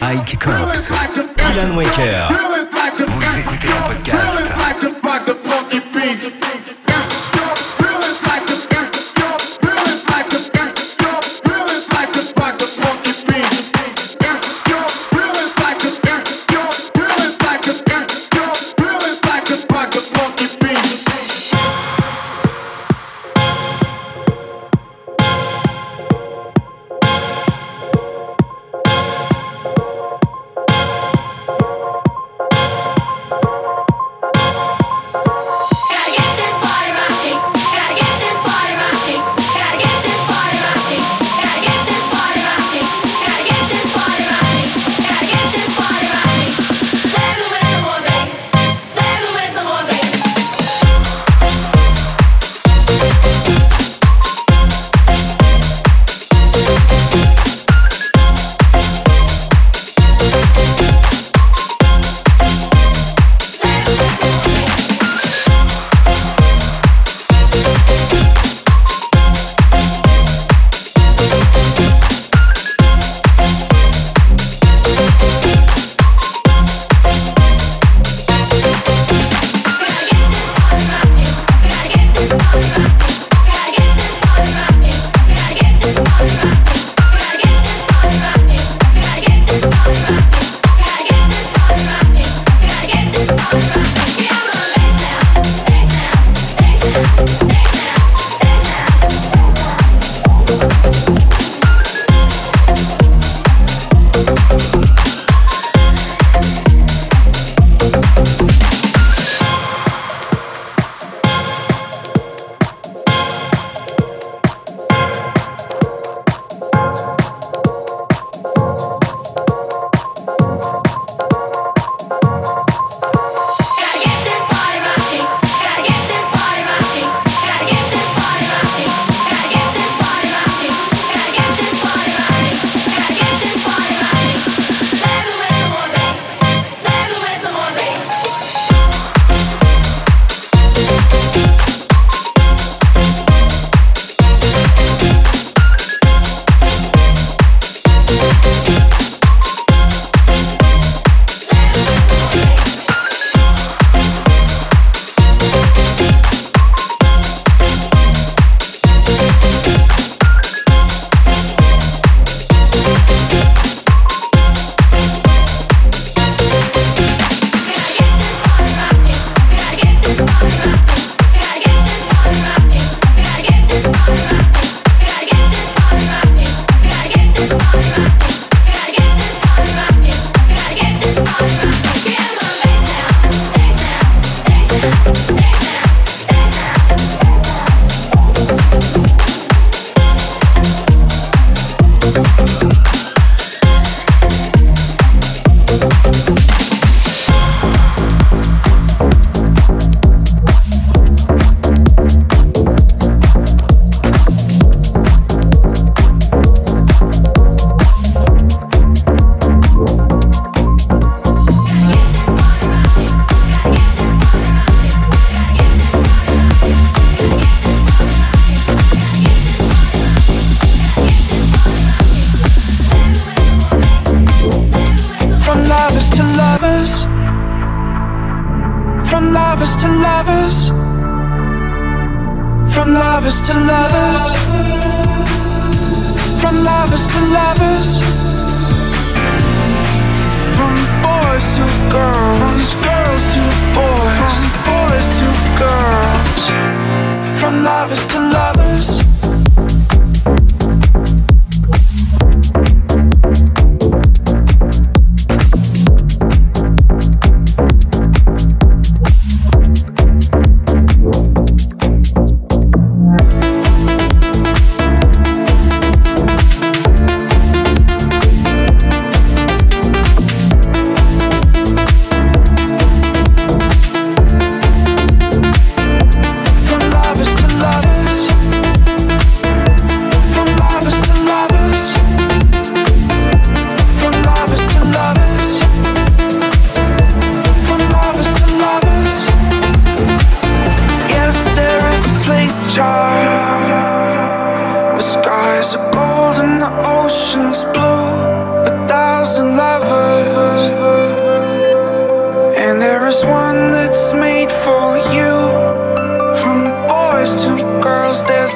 Ike Cox, Ilan Waker. Vous écoutez un podcast.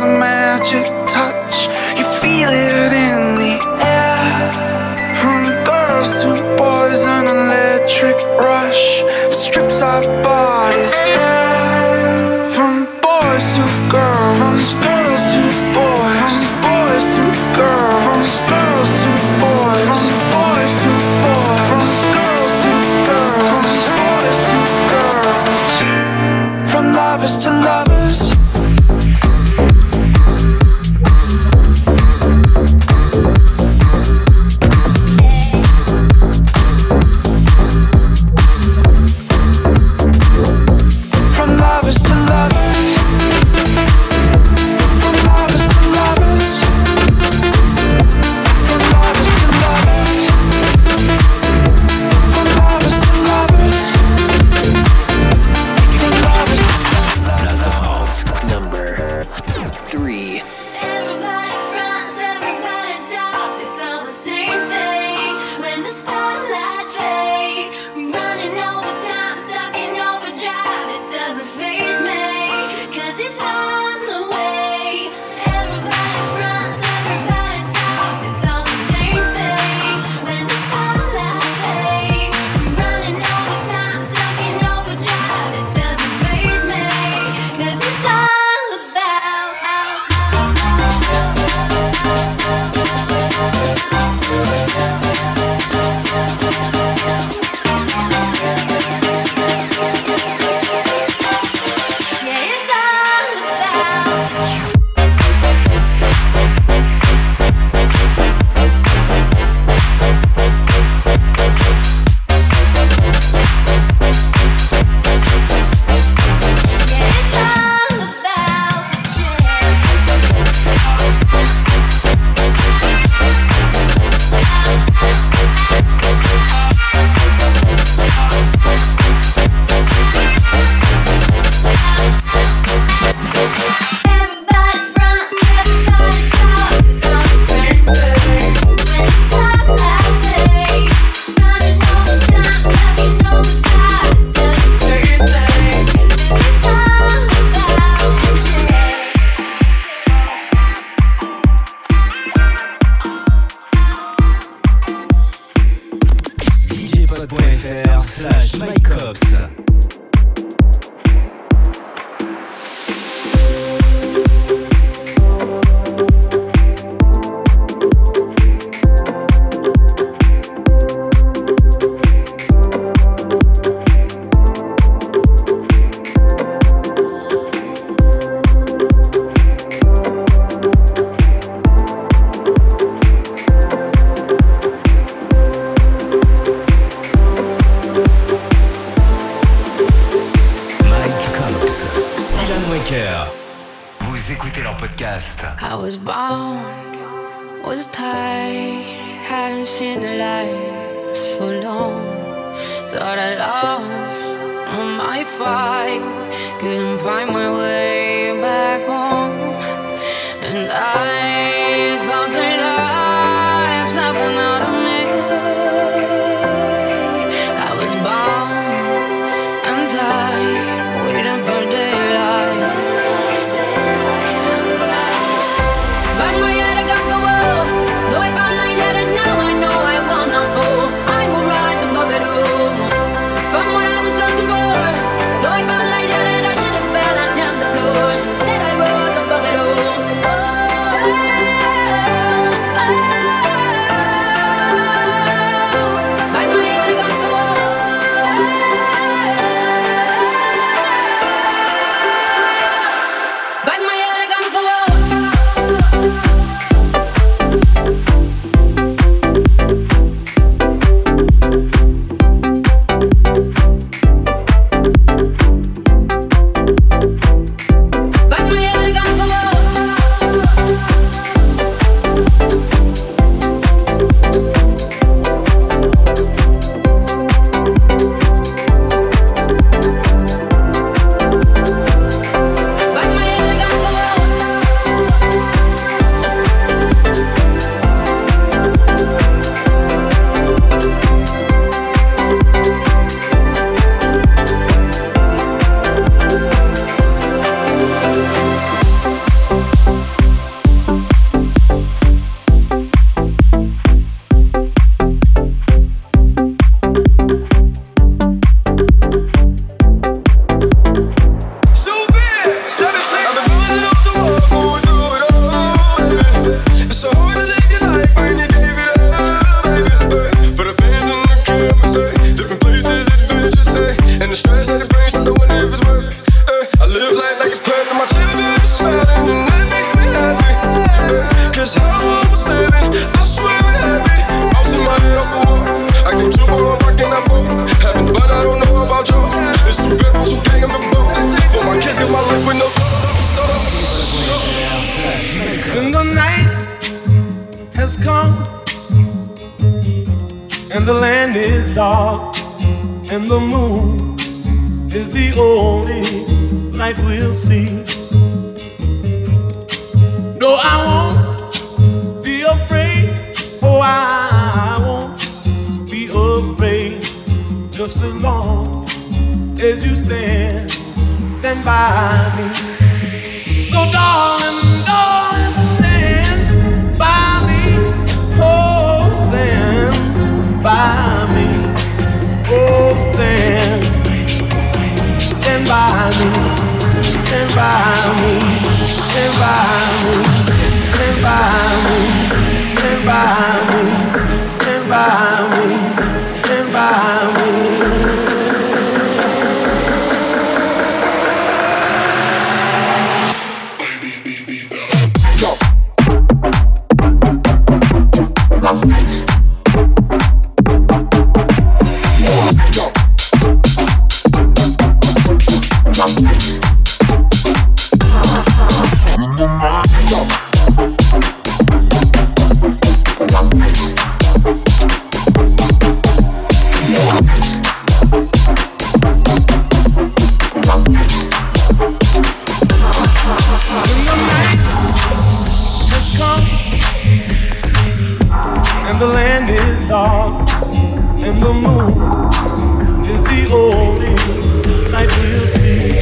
a magic touch. You feel it in the air. From girls to boys, an electric rush strips our bodies bare. From boys to girls, from girls to boys, from boys to girls, from girls to boys, from boys to boys, from girls to girls, from boys to girls, from lovers to lovers. I was bound, was tied, hadn't seen the light so long. Thought I lost my fight, couldn't find my way back home. And I felt the light snapping out of me. I was bound and tied, waiting for daylight. Bang my head against the wall. Though I found light-headed, now I know I will not fall. I will rise above it all. From what I was searching for. Though I found light-headed, I should have fell and hit the floor. Instead I rose above it all. Oh, land is dark, and the moon is the only light we'll see. No, I won't be afraid. Oh, I won't be afraid. Just as long as you stand by me. So darling, darling, stand by me. Oh, stand by me. Oh, stand by me. Stand by me. Stand by me. Stand by me. Stand by me. Stand by me. Stand by me. The land is dark, and the moon is the only light we'll see.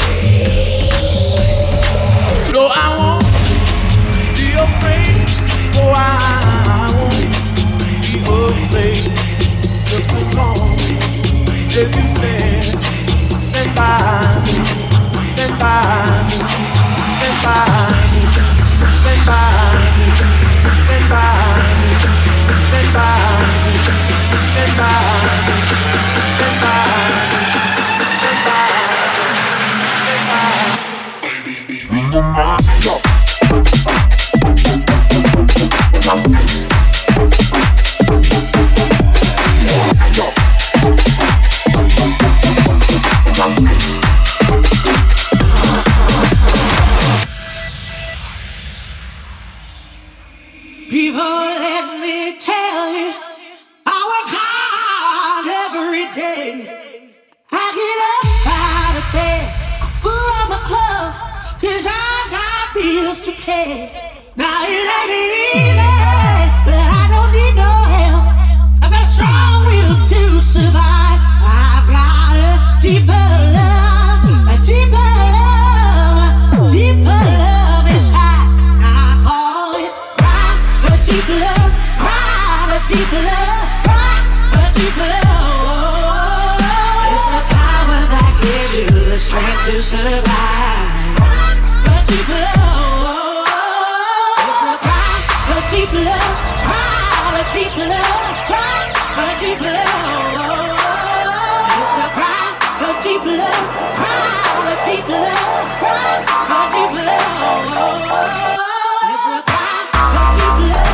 No, I won't be afraid. Oh, I won't be afraid. Just as long as you stand by me, stand by me, stand by me, stand by me, stand by me. Stand by me, stand by me, stand by me, stand by me, stand by me. People, let me tell you, I work hard every day. I get up out of bed, I put on my clothes, 'cause I got bills to pay. Now it ain't easy, but I don't need no help. I've got a strong will to survive. I've got a deeper love, a deeper love, deeper love inside. I call it deep love, right, a deep love, right, a deep love. It's the power that gives you the strength to survive. A deep love. It's the power, a deep love, right, a deep love, right, a deep love. It's the power, a deep love, right, a deep love, right, a deep love. It's the power, a deep love.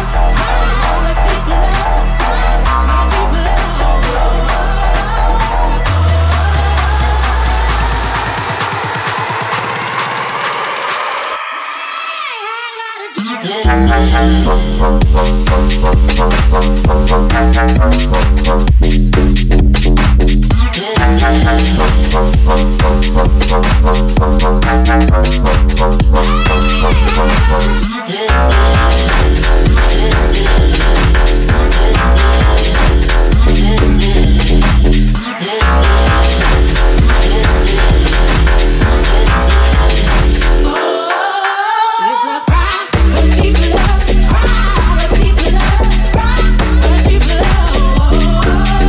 Deep love,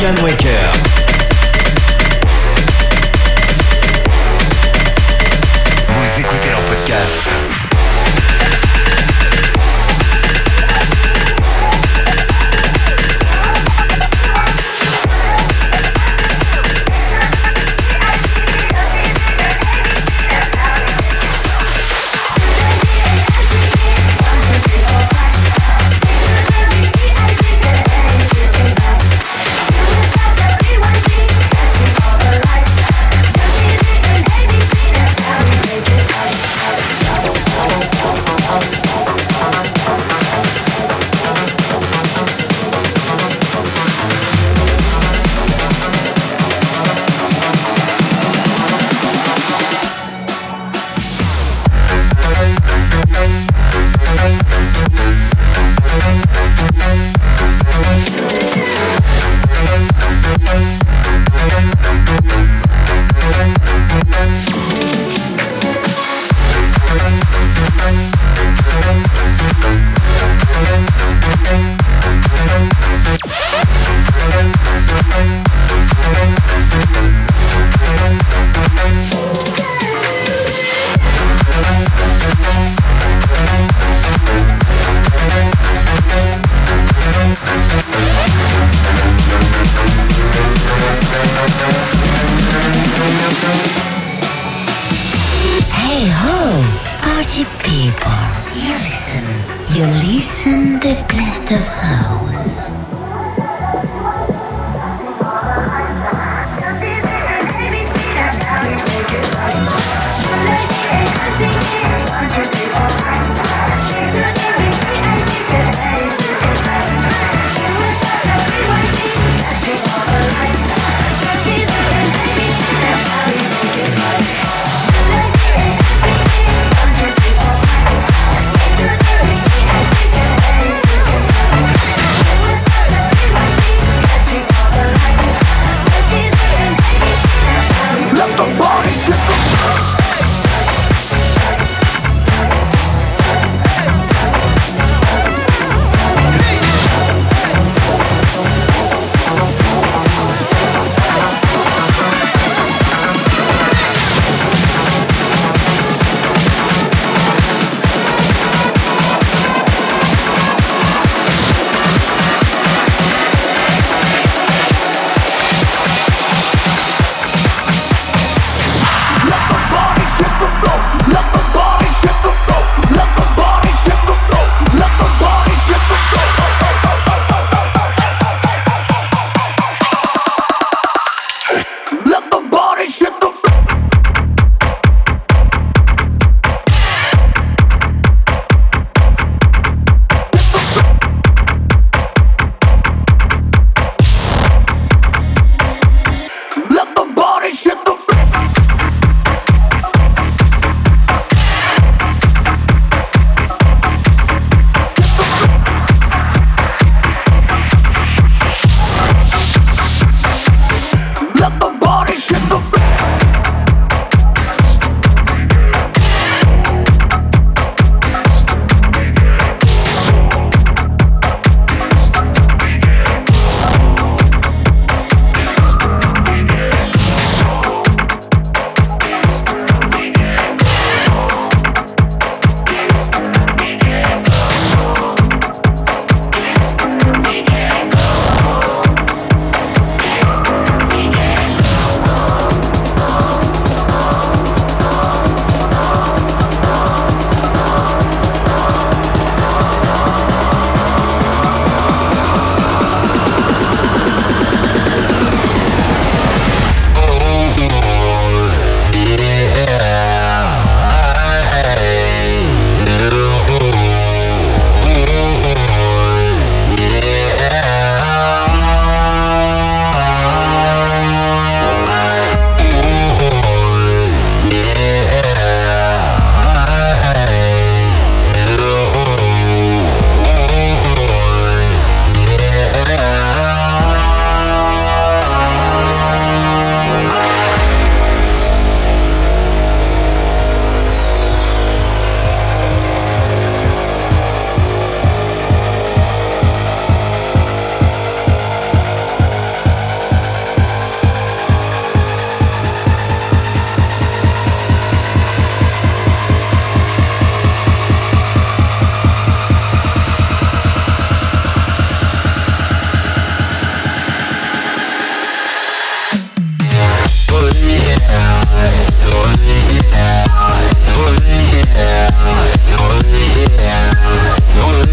Kylian Waker. Vous écoutez leur podcast.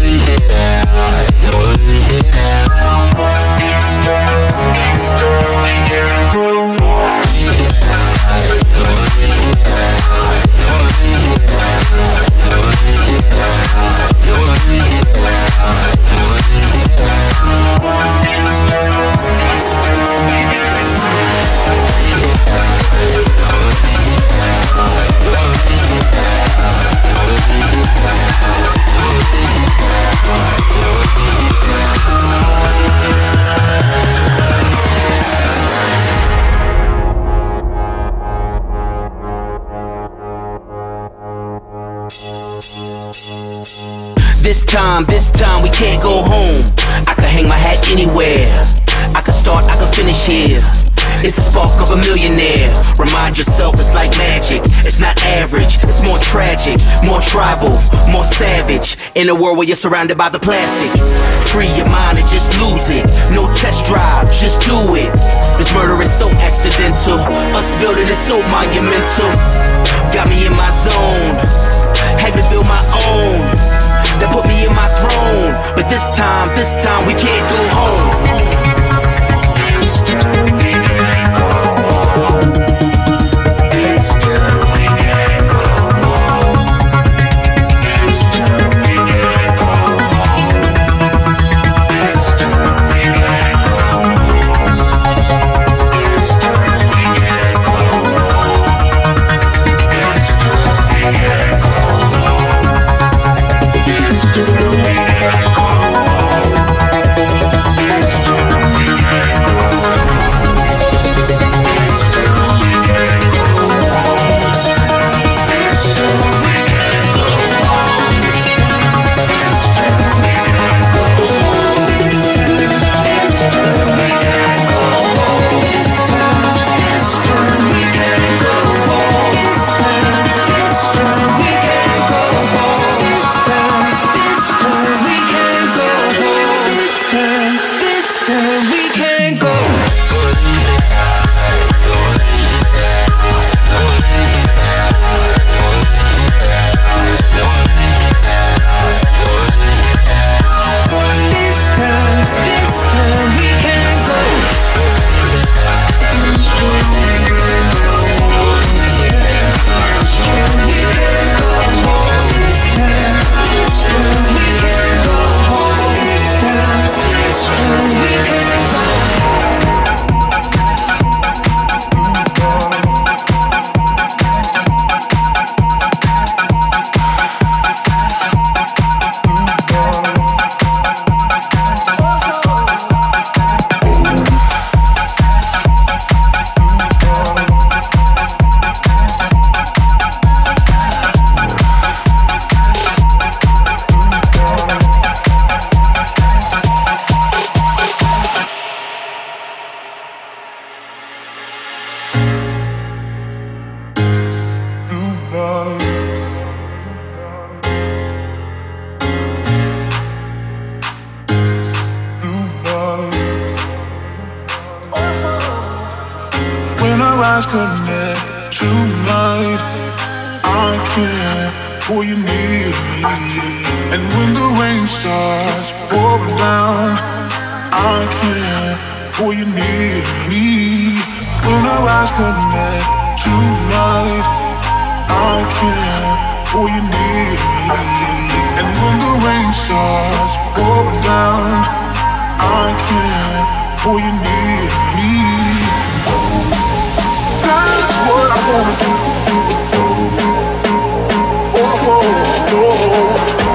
This time we can't go home. I can hang my hat anywhere. I can start, I can finish here. It's the spark of a millionaire. Remind yourself it's like magic. It's not average, it's more tragic, more tribal, more savage. In a world where you're surrounded by the plastic. Free your mind and just lose it. No test drive, just do it. This murder is so accidental. Us building is so monumental. Got me in my zone. Had to build my own. That put me in my throne. But this time we can't go home. eyes connect tonight. I can't pull you near me. And when the rain starts pouring down, I can't pull you near me. When our eyes connect tonight, I can't pull you near me. And when the rain starts pouring down, I can't pull you near me. That's what I wanna do. Oh, oh, oh.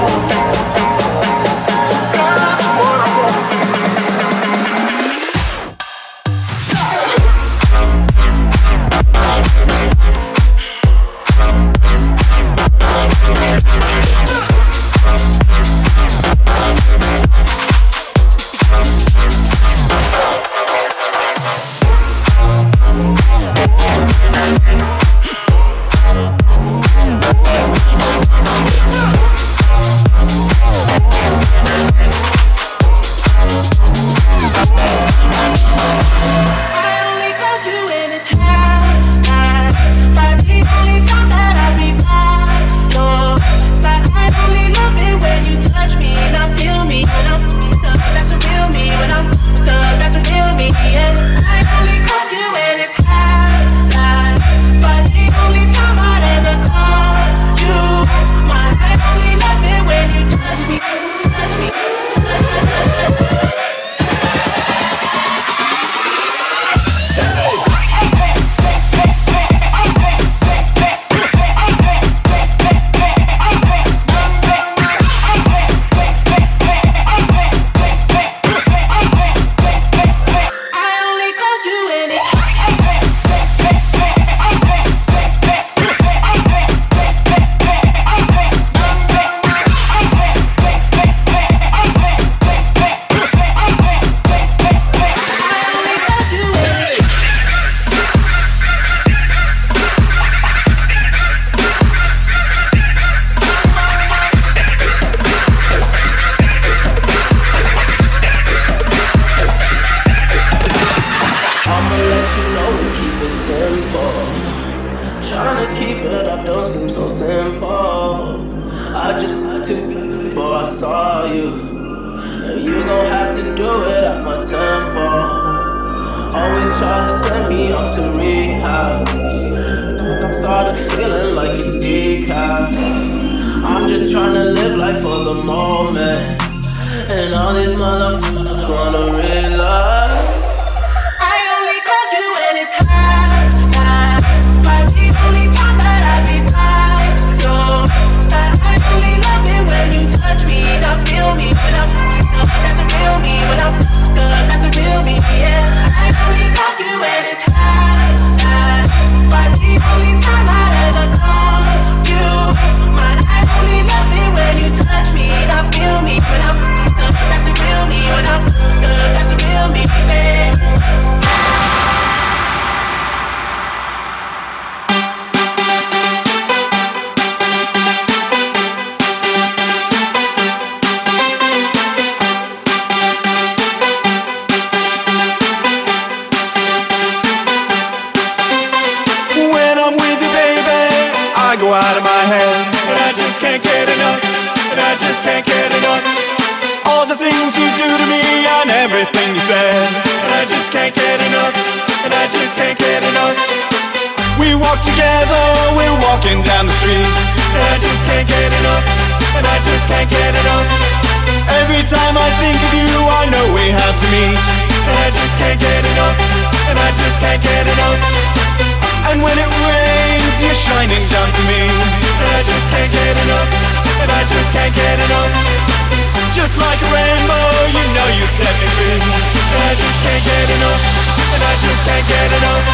That's what I wanna do. simple. Trying to keep it up don't seem so simple. I just had to before I saw you, and you gon' have to do it at my tempo. Always try to send me off to rehab. Started feeling like it's decaf. I'm just trying to live life for the moment, and all these motherfuckers wanna realize I only call you when it's hard. Might be the only time that I be by your side. I only love it when you touch me. Now feel me when I'm that's a real me. When I'm that's a real me, yeah. I only call you when it's hard. Might be the only time I ever call you mine. I only love it when you touch me. Now feel me when I'm that's a real me. When I'm that's a real me, babe. Go out of my head, and I just can't get enough, and I just can't get enough. All the things you do to me and everything you said, and I just can't get enough, and I just can't get enough. We walk together, we're walking down the streets, and I just can't get enough, and I just can't get enough. Every time I think of you, I know we have to meet, and I just can't get enough, and I just can't get enough. And when it rains, you're shining down for me, and I just can't get enough, and I just can't get enough. Just like a rainbow, you know you set me free, and I just can't get enough, and I just can't get enough.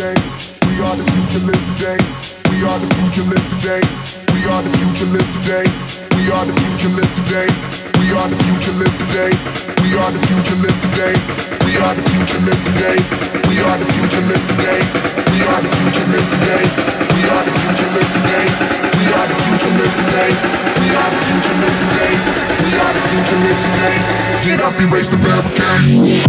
today. We are the future, live today. We are the future, live today. We are the future, live today. We are the future, live today. We are the future, live today. We are the future, live today. We are the future, live today. We are the future, live today. We are the future, live today. We are the future, live today. We are the future, live today. We are the future, live today. We are the future, live today. Get up, erase the barricade.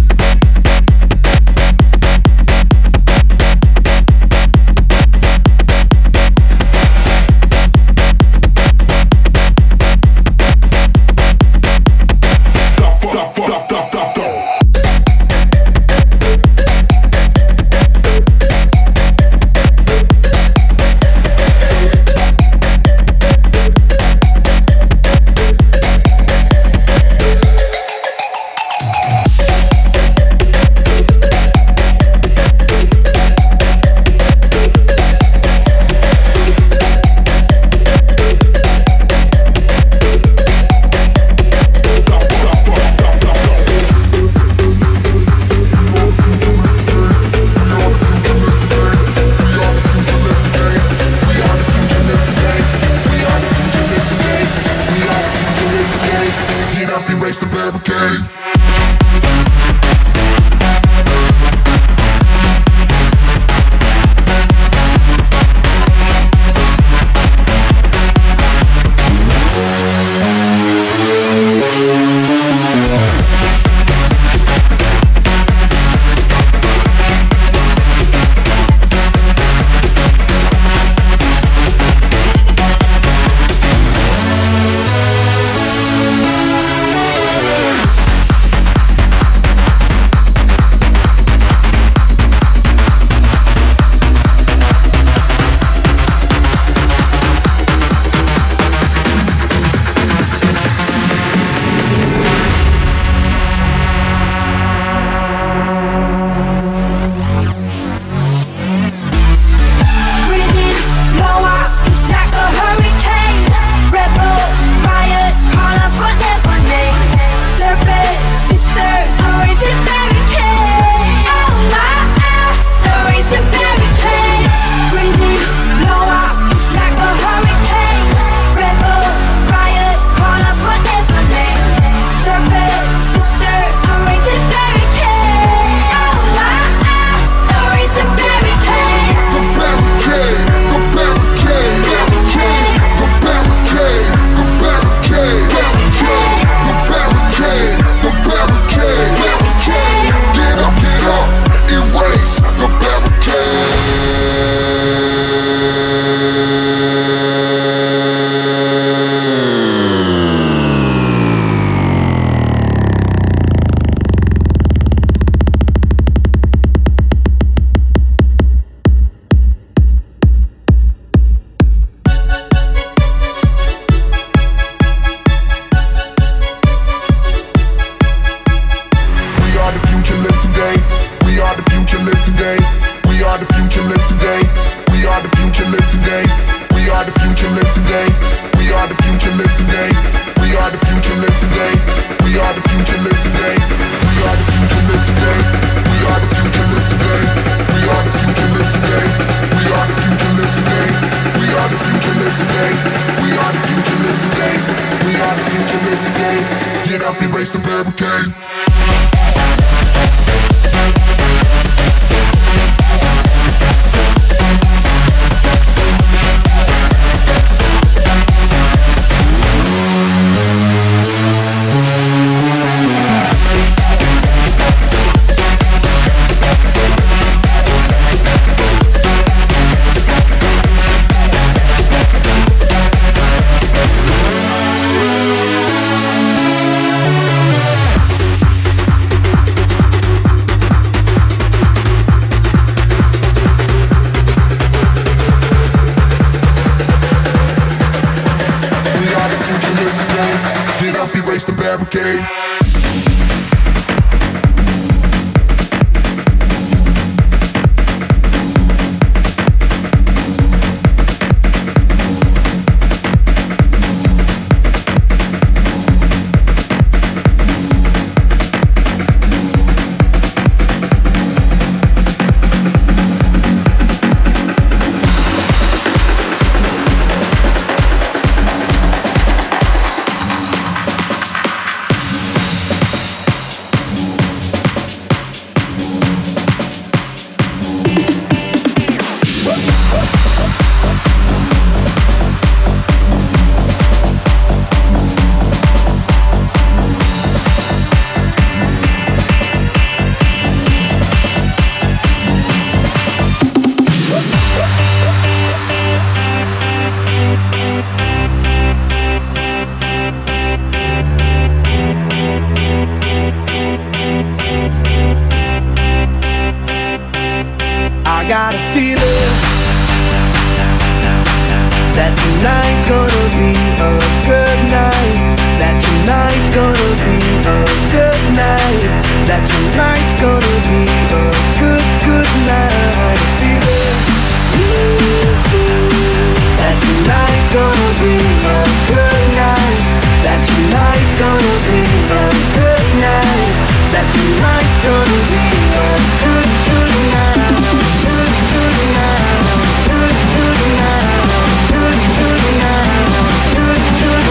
tonight's gonna be a good, good night. Good, good night. Good, good night. Good, good night. Good, good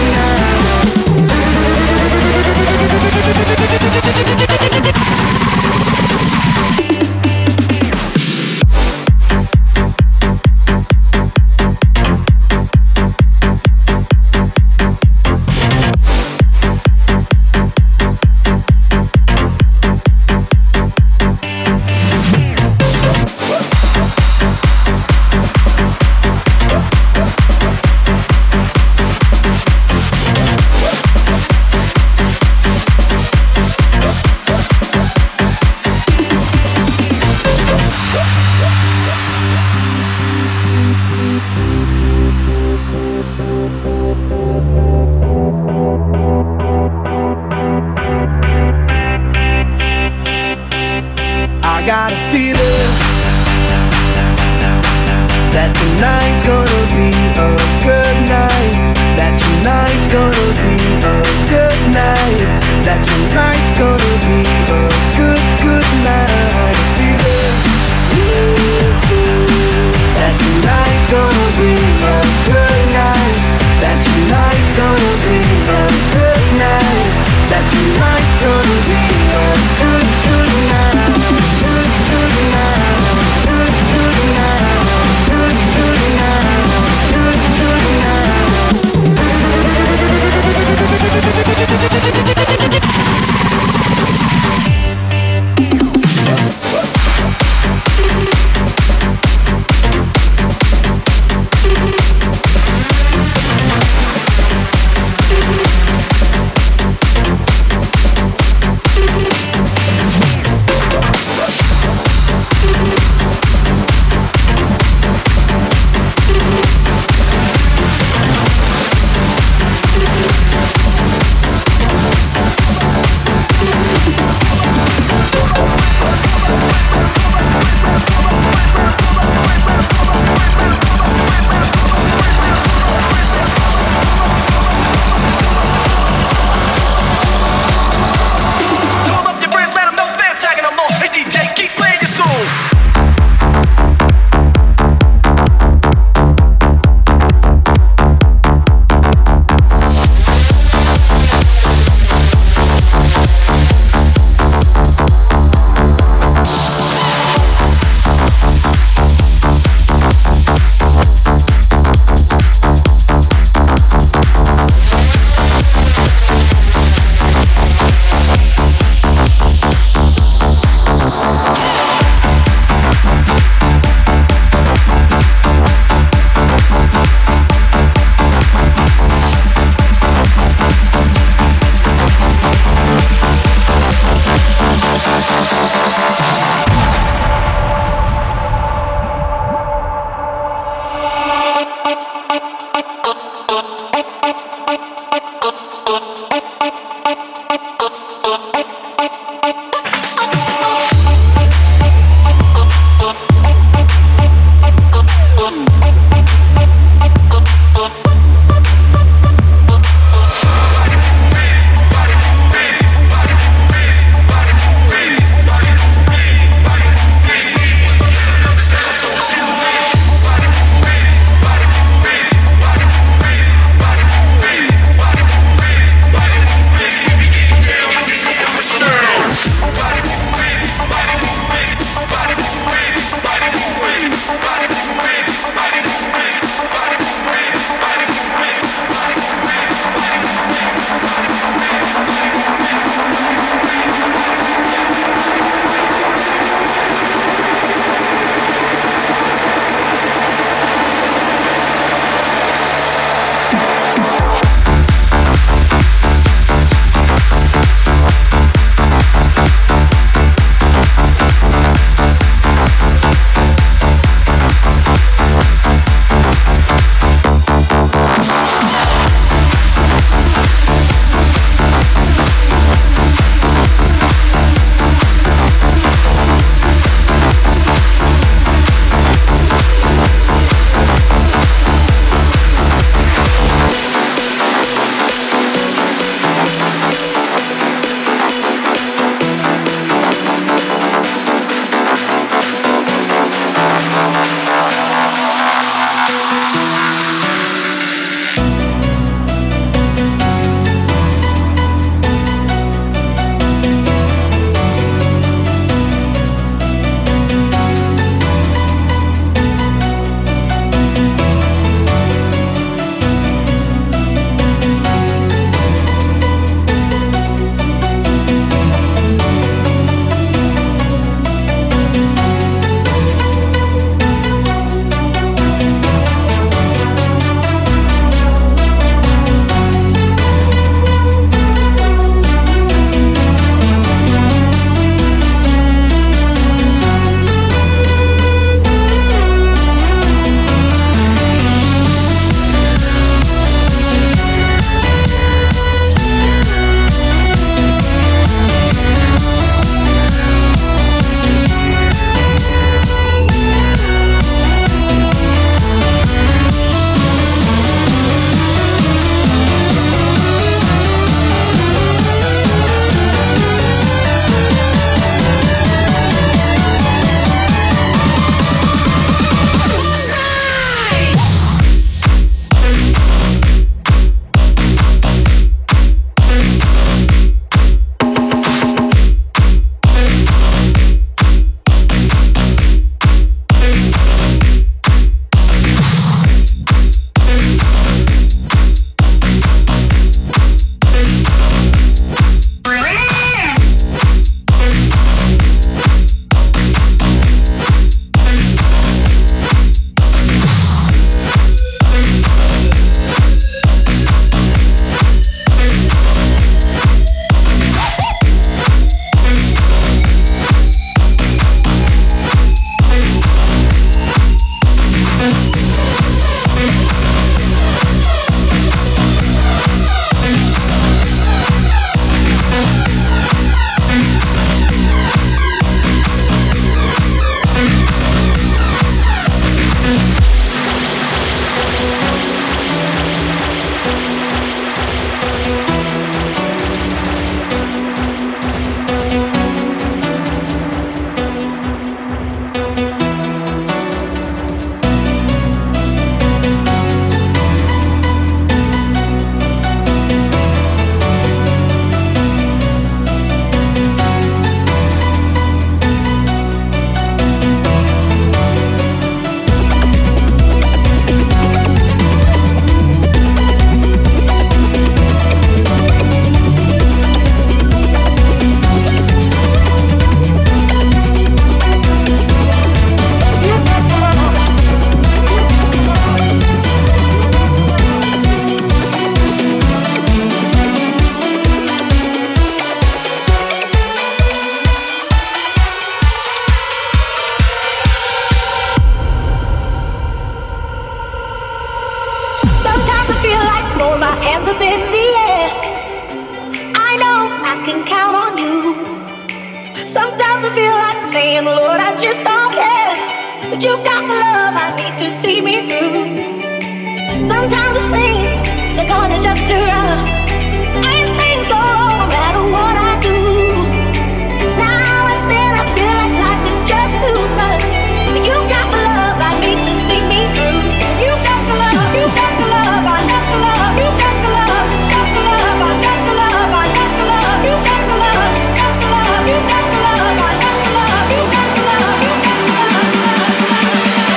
saying, Lord, I just don't care. But you got the love I need to see me through. Sometimes it seems the going is just too rough, and things go wrong no matter what I do. Now and then I feel like life is just too much. You got the love I need to see me through. You got the love, you got the love, I got the love. You got the love, got the love, I got the love, I got the love. You got the love, got the love, you got the love, I got the love. You got the love, you got the love.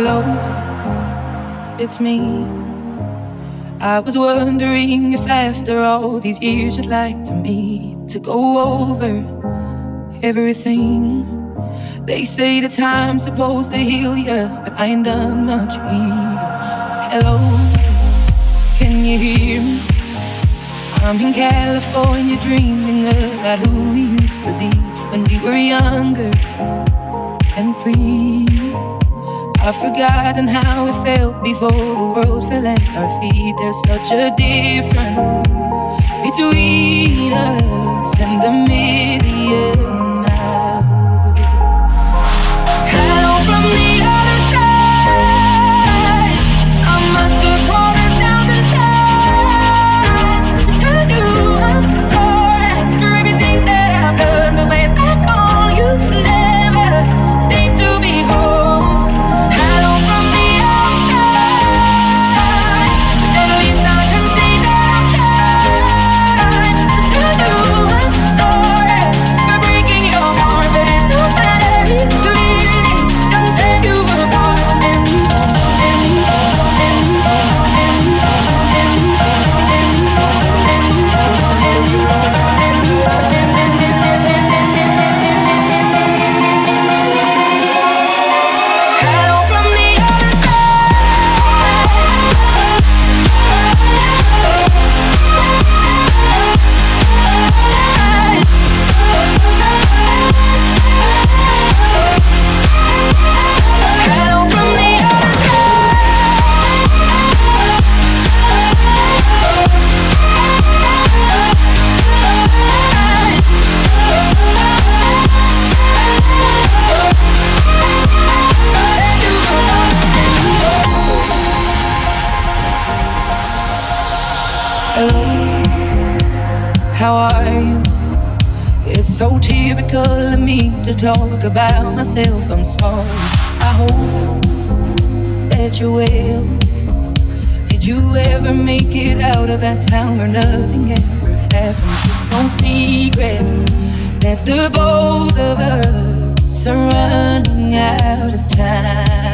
Hello, it's me. I was wondering if after all these years you'd like to meet to go over everything. They say the time's supposed to heal ya, but I ain't done much healing. Hello, can you hear me? I'm in California dreaming about who we used to be when we were younger and free. I've forgotten how it felt before the world fell at our feet. There's such a difference between us and a million miles. Hello from the other side. I must have called 1,000 times to tell you I'm sorry for everything that I've done. But when I call you, never seem to be home. How are you? It's so typical of me to talk about myself. I'm sorry. I hope that you're well. Did you ever make it out of that town where nothing ever happened? It's no secret that the both of us are running out of time.